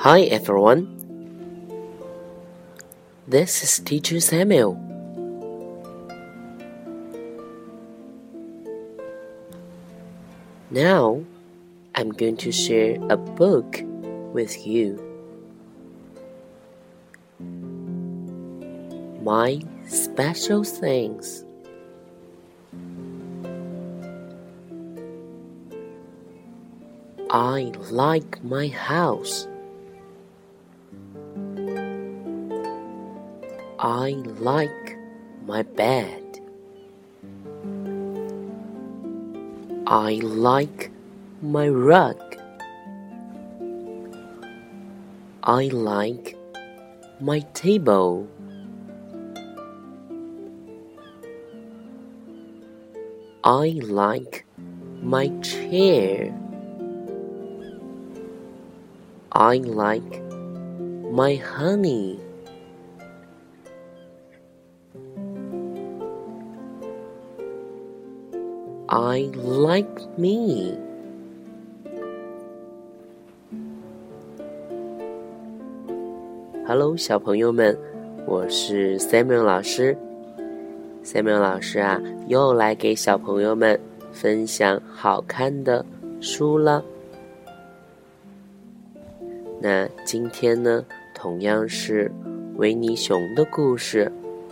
Hi everyone, this is Teacher Samuel. Now, I'm going to share a book with you. My Special Things. I like my house. I like my bed. I like my rug. I like my table. I like my chair. I like my honey. I like me. Hello， 小朋友们，我是 Samuel 老师。Samuel 老师啊，又来给小朋友们分享好看的书了。那今天呢，同样是维尼熊的故事。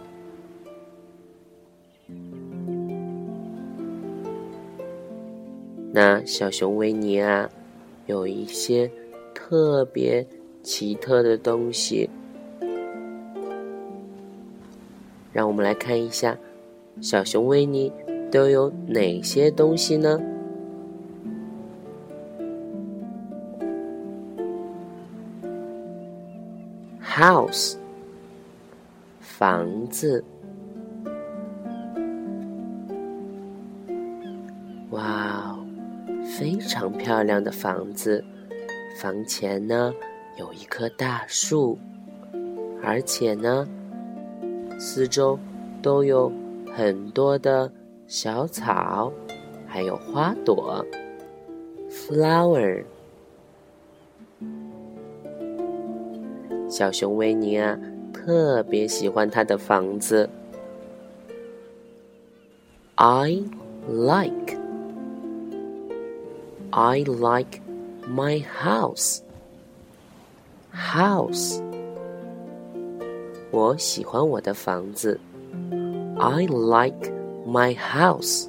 那小熊维尼啊，有一些特别奇特的东西，让我们来看一下，小熊维尼都有哪些东西呢？House 房子，哇哦，非常漂亮的房子。房前呢有一棵大树，而且呢四周都有很多的小草，还有花朵 flower。小熊维尼啊，特别喜欢他的房子。I like my house. House， 我喜欢我的房子。I like my house.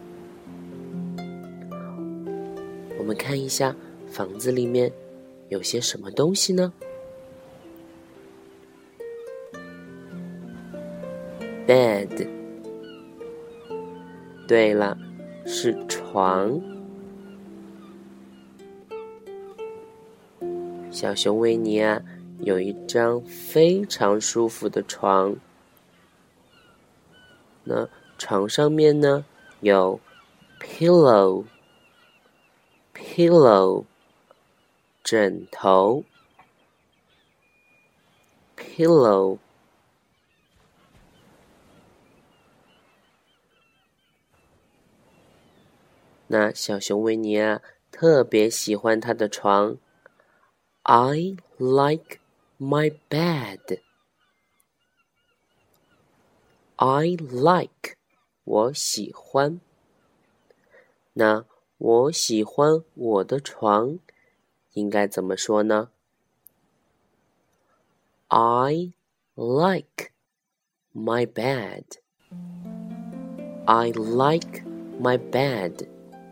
我们看一下房子里面有些什么东西呢？Bed， 对了，是床。小熊维尼啊，有一张非常舒服的床。那床上面呢，有 pillow 枕头 pillow。那小熊维尼啊，特别喜欢他的床。I like my bed. I like， 我喜欢。那我喜欢我的床，应该怎么说呢？ I like my bed. I like my bed.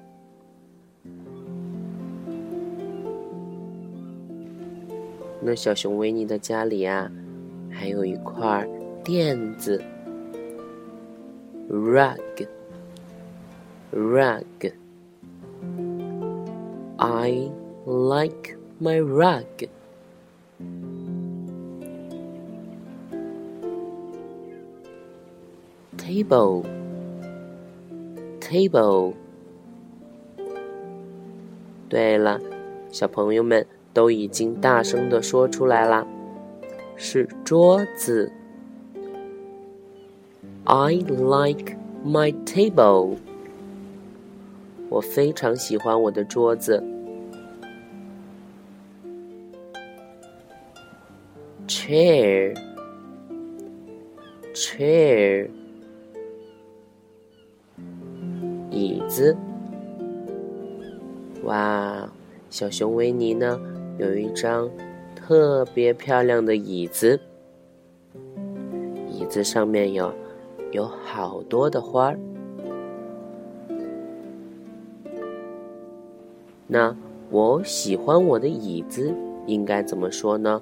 那小熊维尼的家里啊，还有一块垫子 rug. I like my rug. Table 对了，小朋友们都已经大声地说出来啦，是桌子。I like my table. 我非常喜欢我的桌子。 chair chair 椅子。哇，小熊维尼呢有一张特别漂亮的椅子，椅子上面有好多的花儿。那我喜欢我的椅子应该怎么说呢？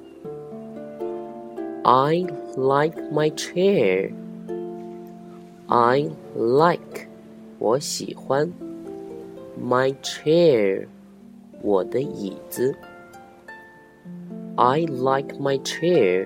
I like my chair. I like 我喜欢 my chair 我的椅子。 I like my chair.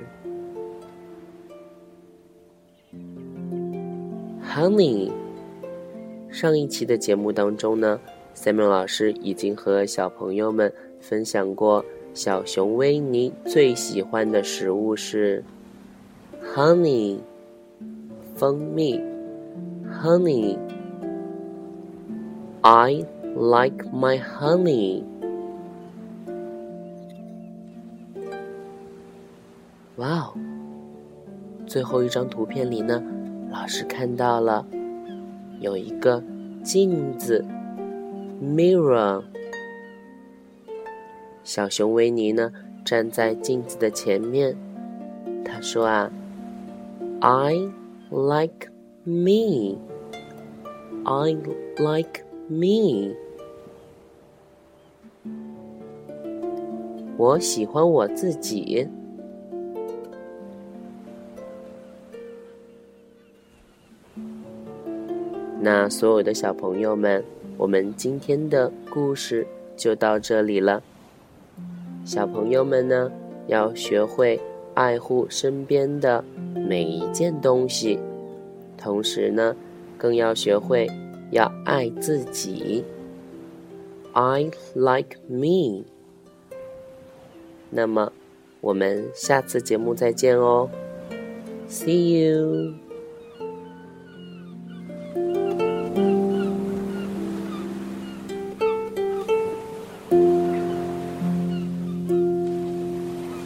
Honey 上一期的节目当中呢，Samuel 老师已经和小朋友们分享过小熊维尼最喜欢的食物是 honey 蜂蜜 honey I like my honey。 哇哦，最后一张图片里呢，老师看到了有一个镜子mirror， 小熊维尼呢站在镜子的前面，他说啊 I like me I like me 我喜欢我自己。那所有的小朋友们，我们今天的故事就到这里了。小朋友们呢，要学会爱护身边的每一件东西，同时呢，更要学会要爱自己。I like me。 那么，我们下次节目再见哦。See you。